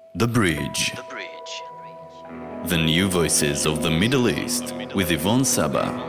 The Bridge. The new voices of the Middle East with Yvonne Saba.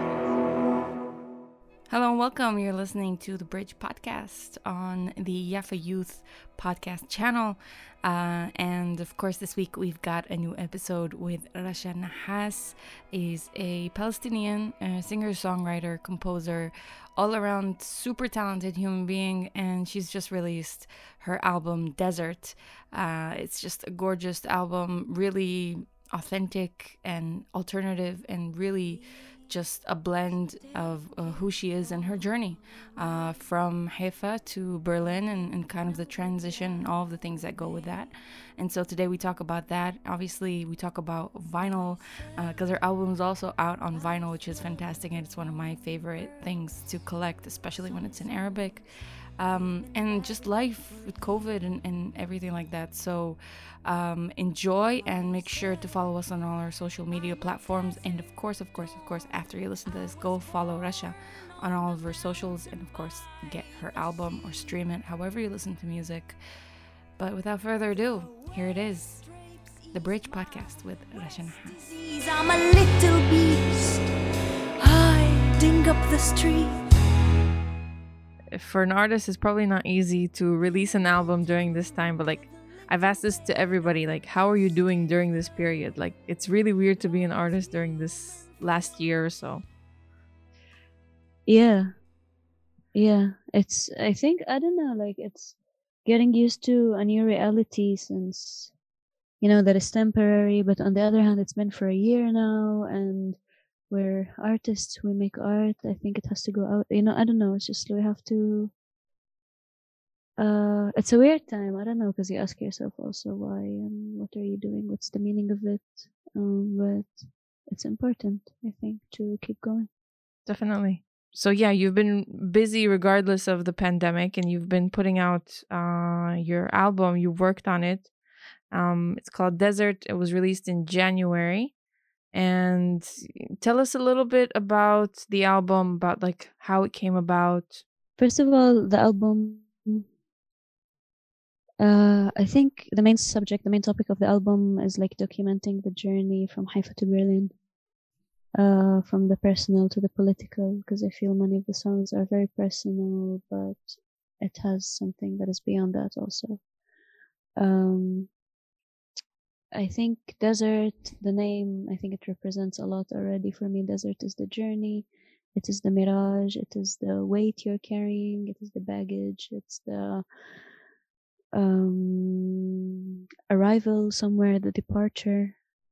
Hello and welcome. You're listening to The Bridge podcast on the Yafa Youth podcast channel. And of course, this week we've got a new episode with Rasha Nahas. Is a Palestinian singer, songwriter, composer, all around super talented human being. And she's just released her album Desert. It's just a gorgeous album, really authentic and alternative, and really just a blend of who she is and her journey from Haifa to Berlin, and kind of the transition and all of the things that go with that. And so today we talk about that. Obviously we talk about vinyl because her album is also out on vinyl, which is fantastic, and it's one of my favorite things to collect, especially when it's in Arabic. And just life with COVID and everything like that. So enjoy, and make sure to follow us on all our social media platforms. And of course, after you listen to this, go follow Rasha on all of her socials, and of course, get her album or stream it, however you listen to music. But without further ado, here it is, The Bridge Podcast with Rasha Nahas. I'm a little beast hiding up the street. For an artist, it's probably not easy to release an album during this time, but like I've asked this to everybody, like, how are you doing during this period? Like, it's really weird to be an artist during this last year or so. Yeah. It's, I think, I don't know, like, it's getting used to a new reality, since, that it's temporary, but on the other hand, it's been for a year now, and we're artists, we make art. I think it has to go out, I don't know, it's just, we have to, it's a weird time, I don't know, because you ask yourself also why, and what are you doing, what's the meaning of it, but it's important, I think, to keep going. Definitely. So yeah, you've been busy regardless of the pandemic, and you've been putting out your album. You worked on it. It's called Desert. It was released in January. And tell us a little bit about the album, about like how it came about. First of all, the album, I think the main topic of the album is like documenting the journey from Haifa to Berlin, from the personal to the political, because I feel many of the songs are very personal, but it has something that is beyond that also. I think Desert, the name, I think it represents a lot already for me. Desert is the journey, it is the mirage, it is the weight you're carrying, it is the baggage, it's the arrival somewhere, the departure.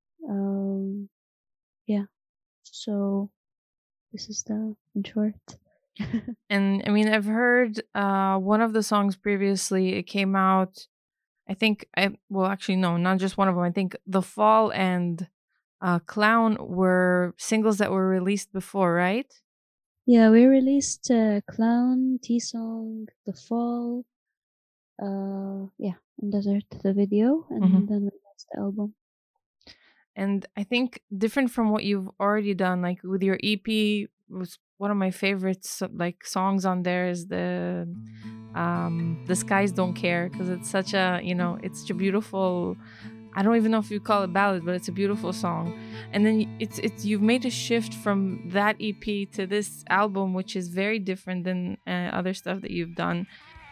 So this is in short. And I mean, I've heard one of the songs previously. It came out, I think, not just one of them. I think The Fall and Clown were singles that were released before, right? Yeah, we released Clown, T-Song, The Fall, and Desert, the video, and then we released the album. And I think different from what you've already done, like with your EP, was one of my favorites, like songs on there is the Skies Don't Care, because it's such a, it's such a beautiful, I don't even know if you call it ballad, but it's a beautiful song. And then it's you've made a shift from that EP to this album, which is very different than other stuff that you've done.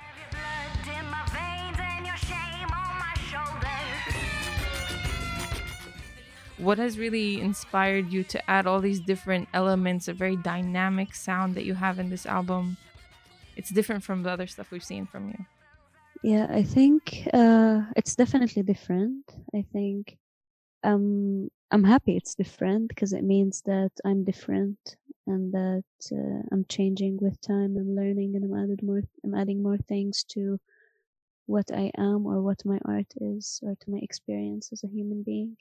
What has really inspired you to add all these different elements, a very dynamic sound that you have in this album? It's different from the other stuff we've seen from you. Yeah, I think it's definitely different. I think I'm happy it's different, because it means that I'm different, and that I'm changing with time. I'm learning, and I'm adding more things to what I am, or what my art is, or to my experience as a human being.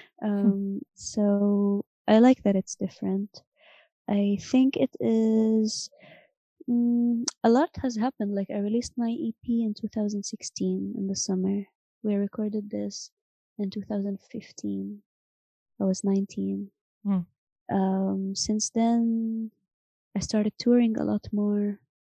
So I like that it's different. I think it is a lot has happened. Like, I released my EP in 2016 in the summer. We recorded this in 2015. I was 19. Since then, I started touring a lot more.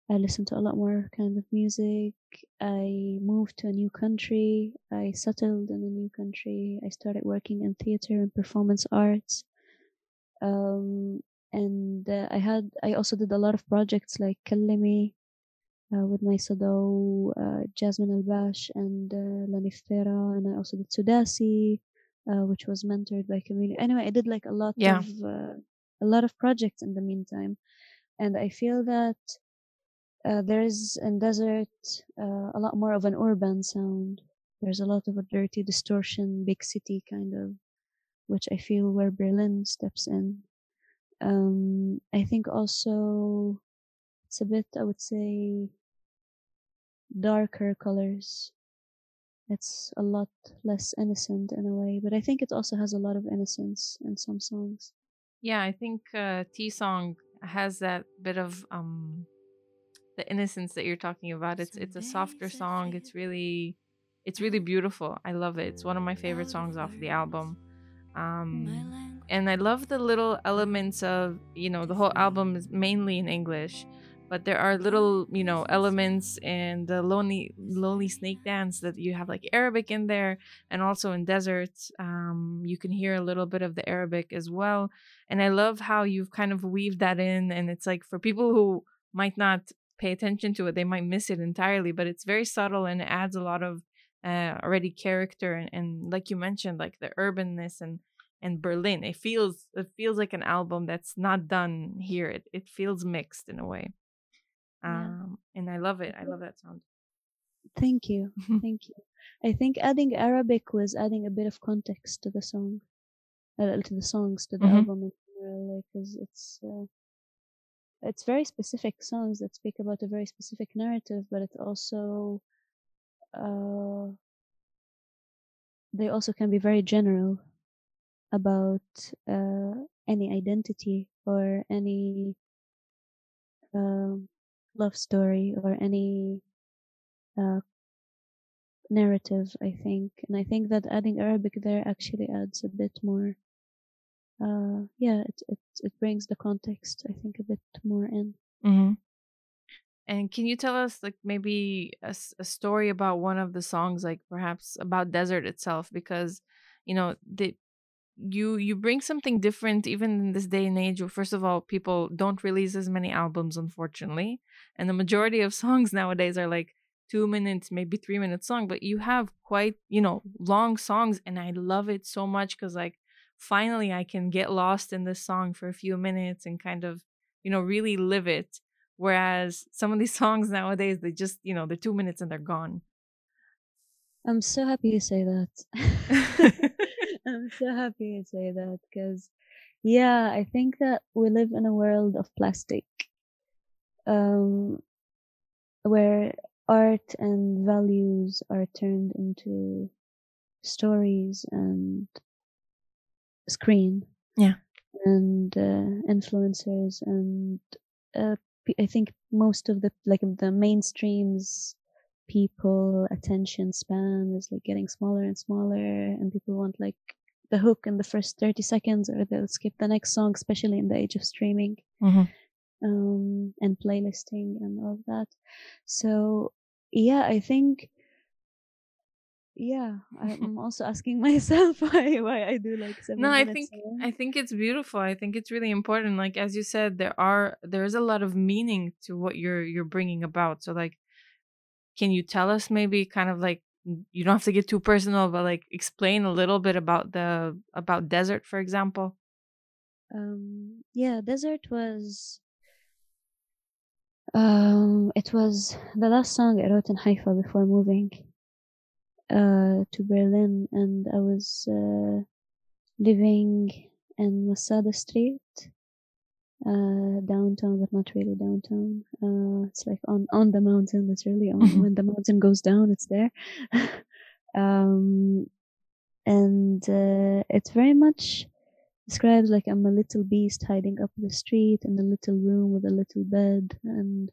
I listened to a lot more kind of music. I moved to a new country. I settled in a new country. I started working in theater and performance arts. Um, and I also did a lot of projects like Kallimi with my Sado, Jasmine Al-Bash and Lanifera, and I also did Sudasi, which was mentored by community. Anyway, I did like Yeah. a lot of projects in the meantime, and I feel that there is in desert a lot more of an urban sound. There's a lot of a dirty distortion, big city kind of, which I feel where Berlin steps in. I think also it's a bit, I would say, darker colors. It's a lot less innocent in a way, but I think it also has a lot of innocence in some songs. Yeah, I think T Song has that bit of the innocence that you're talking about. It's a softer song. It's really beautiful. I love it. It's one of my favorite songs off the album. And I love the little elements of, the whole album is mainly in English, but there are little, elements in the lonely snake dance that you have like Arabic in there, and also in deserts, you can hear a little bit of the Arabic as well. And I love how you've kind of weaved that in, and it's like for people who might not pay attention to it, they might miss it entirely, but it's very subtle and it adds a lot of already character, and like you mentioned, like the urbanness and Berlin. It feels like an album that's not done here. It feels mixed in a way. Yeah. And I love it. I love that sound. Thank you. Thank you. I think adding Arabic was adding a bit of context to the song, to the songs, to the album in general, like, because it's very specific songs that speak about a very specific narrative, but it also they also can be very general about any identity or any love story or any narrative, I think. And I think that adding Arabic there actually adds a bit more. Yeah, it brings the context, I think, a bit more in. Mm-hmm. And can you tell us, like, maybe a story about one of the songs, like perhaps about desert itself? Because, you bring something different even in this day and age where, first of all, people don't release as many albums, unfortunately, and the majority of songs nowadays are like 2 minutes, maybe 3 minute song, but you have quite, long songs, and I love it so much because, like, finally I can get lost in this song for a few minutes and kind of, really live it. Whereas some of these songs nowadays, they just, they're 2 minutes and they're gone. I'm so happy you say that. I'm so happy you say that because, yeah, I think that we live in a world of plastic, where art and values are turned into stories and screen. Yeah. And influencers, and I think most of the mainstream's people attention span is like getting smaller and smaller, and people want like the hook in the first 30 seconds or they'll skip the next song, especially in the age of streaming. And playlisting and all of that. So yeah, I think, yeah, I'm also asking myself why I do like 7 No, minutes. I think it's beautiful. I think it's really important. Like, as you said, there's a lot of meaning to what you're bringing about. So, like, can you tell us maybe kind of like, you don't have to get too personal, but like explain a little bit about desert, for example? Yeah, desert was it was the last song I wrote in Haifa before moving to Berlin, and I was living in Masada Street, downtown, but not really downtown. It's like on the mountain, literally. When the mountain goes down, it's there. And it very much describes like I'm a little beast hiding up the street in a little room with a little bed, and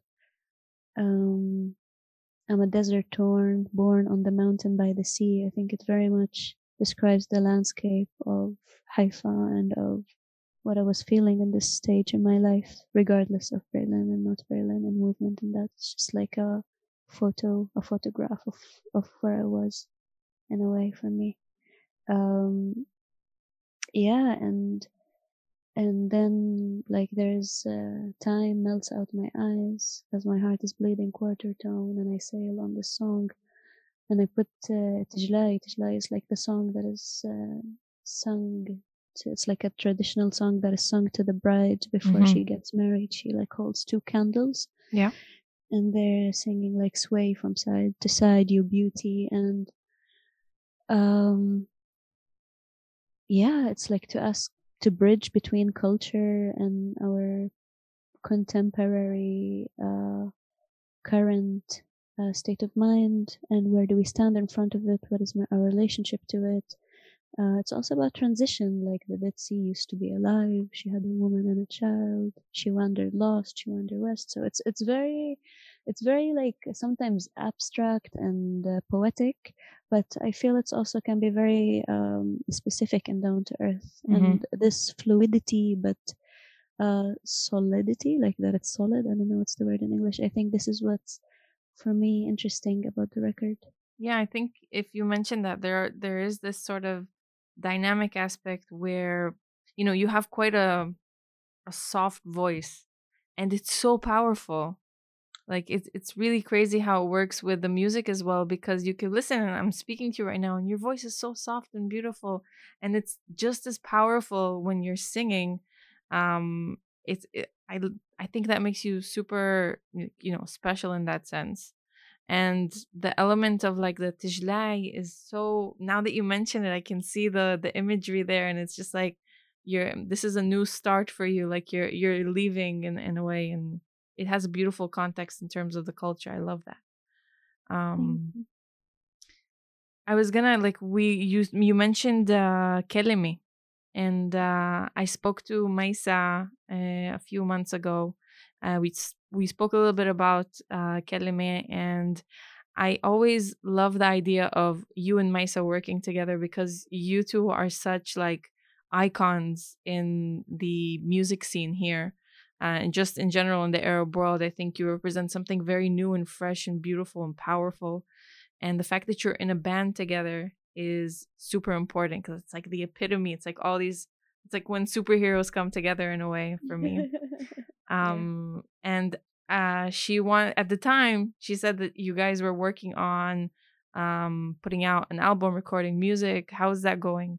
I'm a desert torn, born on the mountain by the sea. I think it very much describes the landscape of Haifa and of what I was feeling in this stage in my life, regardless of Berlin and not Berlin and movement and that. It's just like a photograph of where I was in a way for me. Yeah, and then like there's time melts out my eyes as my heart is bleeding quarter tone, and I sail on this song, and I put Tijlai. Tijlai is like the song that is sung. It's like a traditional song that is sung to the bride before she gets married. She like holds two candles. Yeah. And they're singing like sway from side to side, you beauty. And yeah, it's like to ask to bridge between culture and our contemporary current state of mind, and where do we stand in front of it, what is our relationship to it. It's also about transition, like the Dead Sea used to be alive, she had a woman and a child, she wandered lost, she wandered west. So it's very like sometimes abstract and poetic, but I feel it's also can be very specific and down to earth. And this fluidity but solidity, like that it's solid, I don't know what's the word in English. I think this is what's for me interesting about the record. Yeah, I think if you mentioned that there is this sort of dynamic aspect where you have quite a soft voice, and it's so powerful. Like it's really crazy how it works with the music as well, because you can listen, and I'm speaking to you right now and your voice is so soft and beautiful, and it's just as powerful when you're singing. I think that makes you super special in that sense. And the element of like the tijlai is so, now that you mention it, I can see the imagery there, and it's just like this is a new start for you, like you're leaving in a way, and it has a beautiful context in terms of the culture. I love that. I was gonna like you mentioned Kelimi, and I spoke to Maisa a few months ago. We spoke a little bit about Kelime, and I always love the idea of you and Maisa working together, because you two are such like icons in the music scene here. And just in general in the Arab world, I think you represent something very new and fresh and beautiful and powerful. And the fact that you're in a band together is super important, because it's like the epitome. It's like all these, it's like when superheroes come together in a way for me. And at the time she said that you guys were working on putting out an album, recording music. How is that going?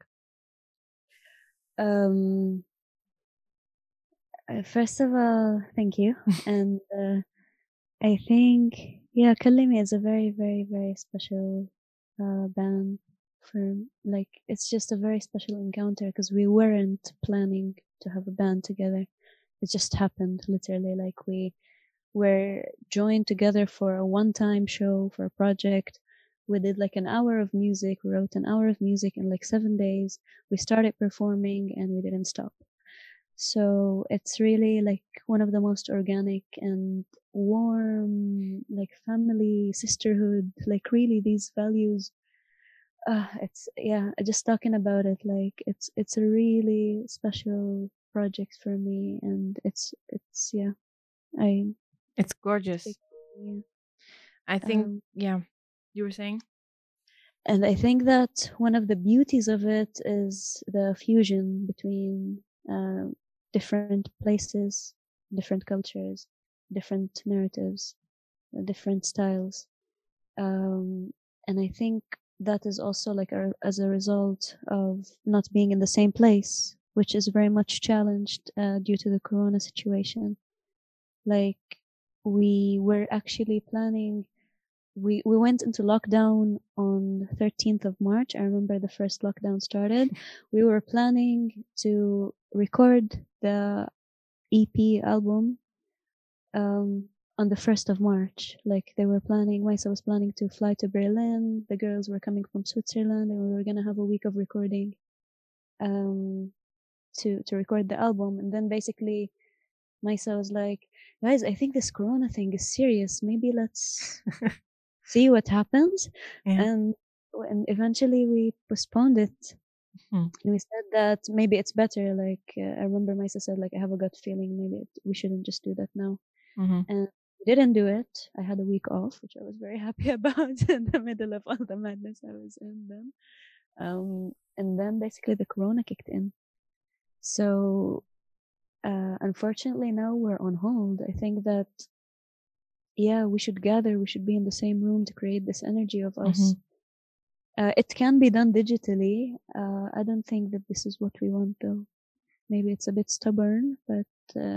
First of all, thank you. And I think, yeah, Kalimi is a very, very, very special band. For like, it's just a very special encounter, because we weren't planning to have a band together. It just happened, literally. Like, we were joined together for a one-time show for a project. We did like an hour of music. We wrote an hour of music in like 7 days. We started performing and we didn't stop. So it's really like one of the most organic and warm, like family, sisterhood, like really these values. It's, yeah, just talking about it, like it's a really special project for me, and it's yeah, it's gorgeous. Yeah. I think, yeah, you were saying? And I think that one of the beauties of it is the fusion between different places, different cultures, different narratives, different styles. And I think that is also like as a result of not being in the same place, which is very much challenged due to the corona situation. Like, we were actually planning, we went into lockdown on 13th of March. I remember the first lockdown started. We were planning to record the EP album on the 1st of March. Like, they were planning, Maisa was planning to fly to Berlin. The girls were coming from Switzerland, and we were going to have a week of recording to record the album. And then basically Maisa was like, guys, I think this corona thing is serious. Maybe let's see what happens. Yeah. And eventually we postponed it Mhm. And we said that maybe it's better. Like I remember Maisa said, like I have a gut feeling. Maybe we shouldn't just do that now. Mhm. And we didn't do it. I had a week off, which I was very happy about in the middle of all the madness I was in then. And then basically the corona kicked in. So unfortunately now we're on hold. I think that yeah, we should gather. We should be in the same room to create this energy of us. Mhm. It can be done digitally. I don't think that this is what we want though. Maybe it's a bit stubborn, but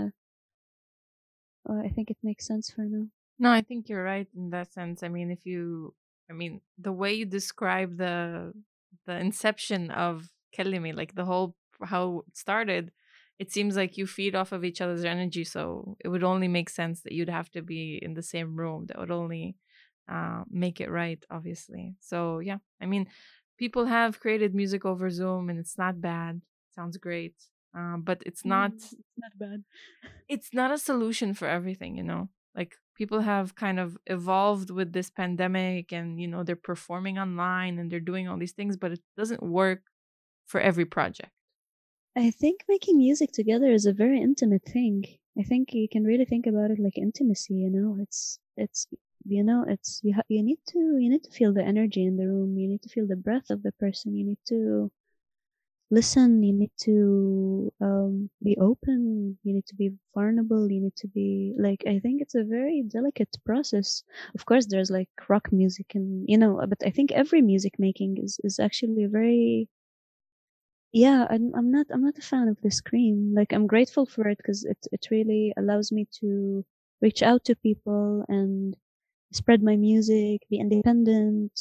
I think it makes sense for now. No, I think you're right in that sense. I mean, the way you describe the inception of Kellimi, like the whole how it started, it seems like you feed off of each other's energy. So it would only make sense that you'd have to be in the same room. That would only make it right, obviously. So yeah, I mean, people have created music over Zoom, and it's not bad. Sounds great, but it's not. It's not bad. It's not a solution for everything, like people have kind of evolved with this pandemic, and they're performing online and they're doing all these things, but it doesn't work for every project. I think making music together is a very intimate thing. I think you can really think about it like intimacy. It's you need to feel the energy in the room. You need to feel the breath of the person. You need to listen. You need to be open. You need to be vulnerable. You need to be like. I think it's a very delicate process. Of course, there's like rock music and but I think every music making is actually a very yeah, I'm not a fan of the screen. Like I'm grateful for it because it really allows me to reach out to people and spread my music, be independent,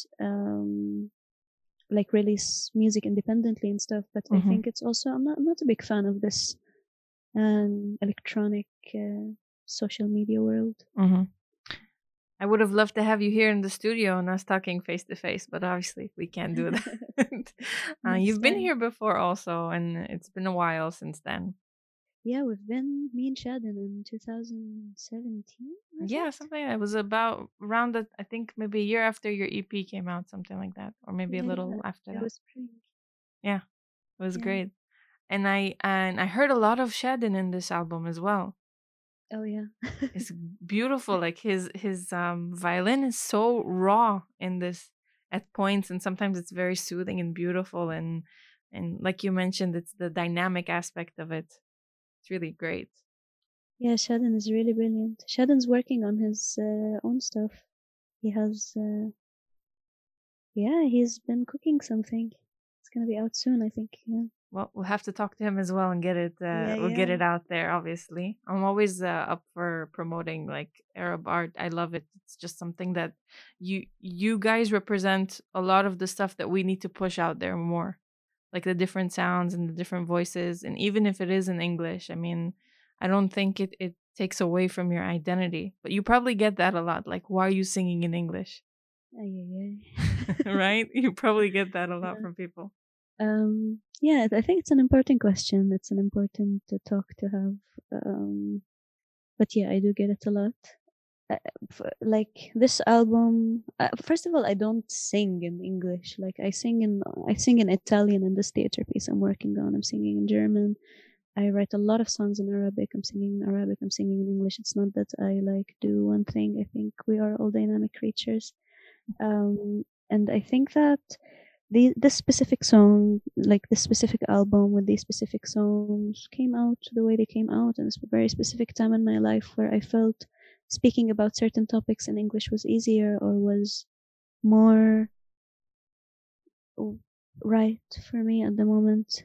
like release music independently and stuff. But I think it's also I'm not a big fan of this electronic social media world. Mm-hmm. I would have loved to have you here in the studio and us talking face to face, but obviously we can't do that. You've been here before also, and it's been a while since then. Yeah, we've been me and Shadon in 2017. Yeah, something that was about around the, I think maybe a year after your EP came out, something like that, or maybe a little after that. It was spring. Yeah, it was great, and I heard a lot of Shadon in this album as well. Oh yeah. It's beautiful. Like his violin is so raw in this at points, and sometimes it's very soothing and beautiful, and like you mentioned, it's the dynamic aspect of it. It's really great. Yeah, Shadon is really brilliant. Shadon's working on his own stuff. He has he's been cooking something. It's gonna be out soon, I think. Yeah. Well, we'll have to talk to him as well and get it. We'll get it out there. Obviously, I'm always up for promoting like Arab art. I love it. It's just something that you guys represent a lot of the stuff that we need to push out there more, like the different sounds and the different voices. And even if it is in English, I mean, I don't think it takes away from your identity. But you probably get that a lot. Like, why are you singing in English? Right? You probably get that a lot from people. Yeah, I think it's an important question. It's an important talk to have. But yeah, I do get it a lot. Like this album, first of all, I don't sing in English. Like I sing in Italian in this theater piece I'm working on. I'm singing in German. I write a lot of songs in Arabic. I'm singing in Arabic. I'm singing in English. It's not that I like do one thing. I think we are all dynamic creatures. And I think that this specific song, like this specific album with these specific songs, came out the way they came out, and it's a very specific time in my life where I felt speaking about certain topics in English was easier or was more right for me at the moment.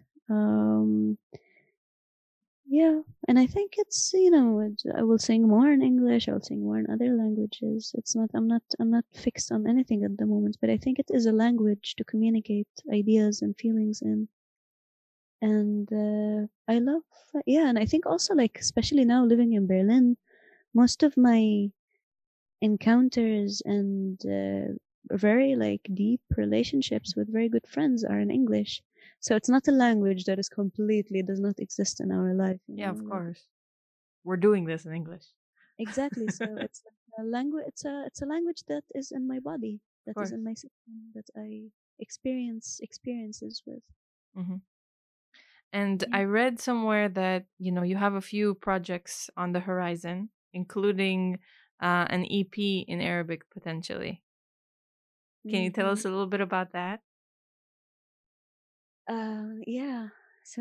Yeah, and I think it's I will sing more in English. I'll sing more in other languages. It's not I'm not fixed on anything at the moment, but I think it is a language to communicate ideas and feelings in. And I love and I think also like especially now living in Berlin, most of my encounters and very like deep relationships with very good friends are in English. So it's not a language that is completely does not exist in our life. Yeah, of course. We're doing this in English. Exactly. So it's like a language. It's a language that is in my body, that is in my system, that I experiences with. Hmm. And Yeah. I read somewhere that, you have a few projects on the horizon, including an EP in Arabic potentially. Can you tell Hmm. us a little bit about that? Yeah. So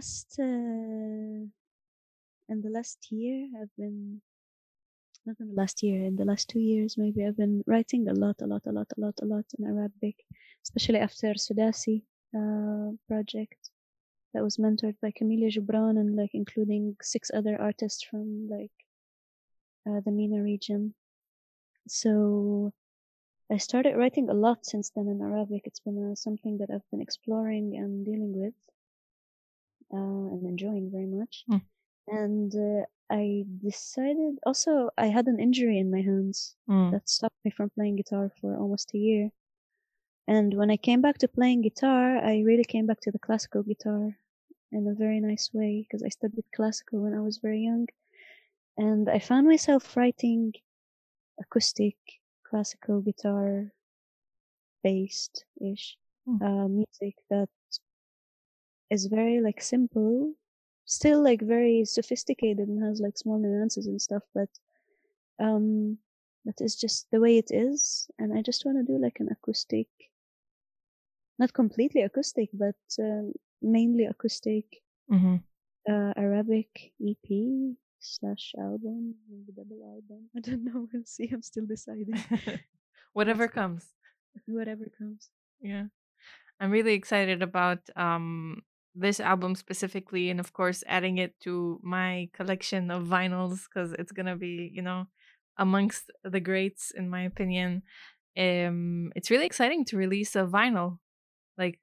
in the last year, I've been not in the last year, in the last 2 years maybe, I've been writing a lot in Arabic, especially after Sudasi project that was mentored by Camila Gibran and like including 6 other artists from like the MENA region. So I started writing a lot since then in Arabic. It's been something that I've been exploring and dealing with and enjoying very much. Mm. And I decided also, I had an injury in my hands Mm. that stopped me from playing guitar for almost a year. And when I came back to playing guitar, I really came back to the classical guitar in a very nice way because I studied classical when I was very young. And I found myself writing acoustic classical guitar based ish music that is very like simple, still like very sophisticated and has like small nuances and stuff, but that is just the way it is. And I just want to do like an acoustic, not completely acoustic, but mainly acoustic Mm-hmm. Arabic EP slash album, maybe double album. I don't know. We'll see. I'm still deciding. Whatever That's comes. whatever comes. Yeah. I'm really excited about this album specifically, and of course adding it to my collection of vinyls because it's gonna be, amongst the greats in my opinion. It's really exciting to release a vinyl. Like,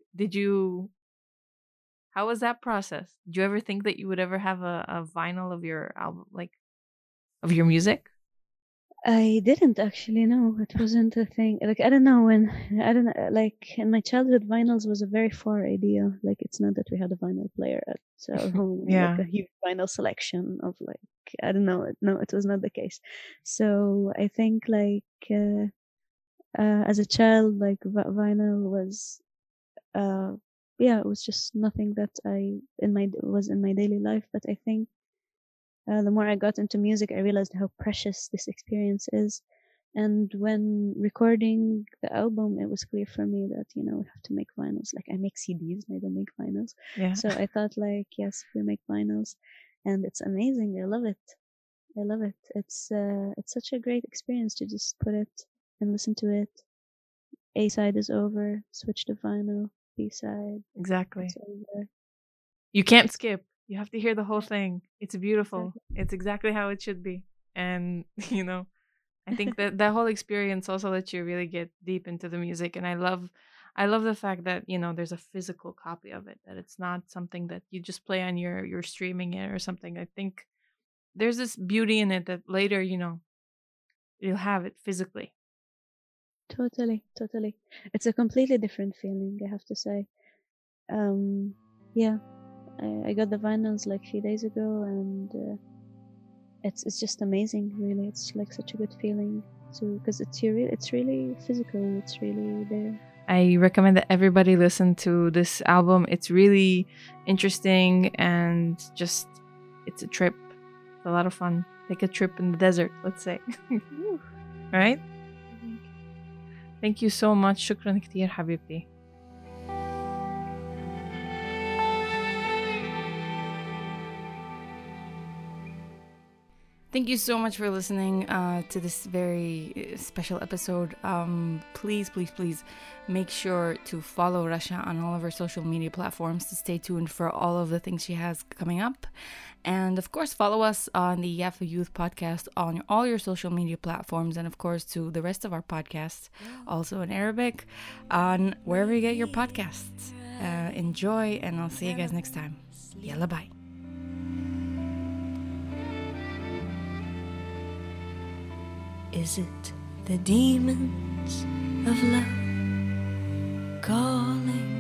how was that process? Did you ever think that you would ever have a vinyl of your album, like of your music? I didn't actually know. It wasn't a thing. Like I don't know when. I don't know. Like in my childhood, vinyls was a very far idea. Like it's not that we had a vinyl player at our home, and, like Yeah. a huge vinyl selection of like I don't know. No, it was not the case. So I think like as a child, like vinyl was yeah, it was just nothing that I was in my daily life. But I think the more I got into music, I realized how precious this experience is. And when recording the album, it was clear for me that, we have to make vinyls. Like I make CDs and I don't make vinyls. Yeah. So I thought like, yes, we make vinyls and it's amazing. I love it. I love it. It's such a great experience to just put it and listen to it. A side is over, switch to vinyl, B side, Exactly. it's over. You can't skip. You have to hear the whole thing. It's beautiful. Exactly. It's exactly how it should be. And, I think that whole experience also lets you really get deep into the music. And I love the fact that, there's a physical copy of it, that it's not something that you just play on your streaming it or something. I think there's this beauty in it that later, you'll have it physically. Totally, totally. It's a completely different feeling, I have to say. Yeah, I got the vinyls like a few days ago, and it's just amazing. Really, it's like such a good feeling too, because it's really physical. It's really there. I recommend that everybody listen to this album. It's really interesting and just it's a trip. It's a lot of fun. Take a trip in the desert, let's say. Woo. Right? Amazing. Thank you so much. شكرا كتير حبيبتي. Thank you so much for listening to this very special episode. Please make sure to follow Rasha on all of her social media platforms to stay tuned for all of the things she has coming up. And of course, follow us on the Yafa Youth podcast on all your social media platforms, and of course to the rest of our podcasts, also in Arabic, on wherever you get your podcasts. Enjoy, and I'll see you guys next time. Yalla bye. Is it the demons of love calling?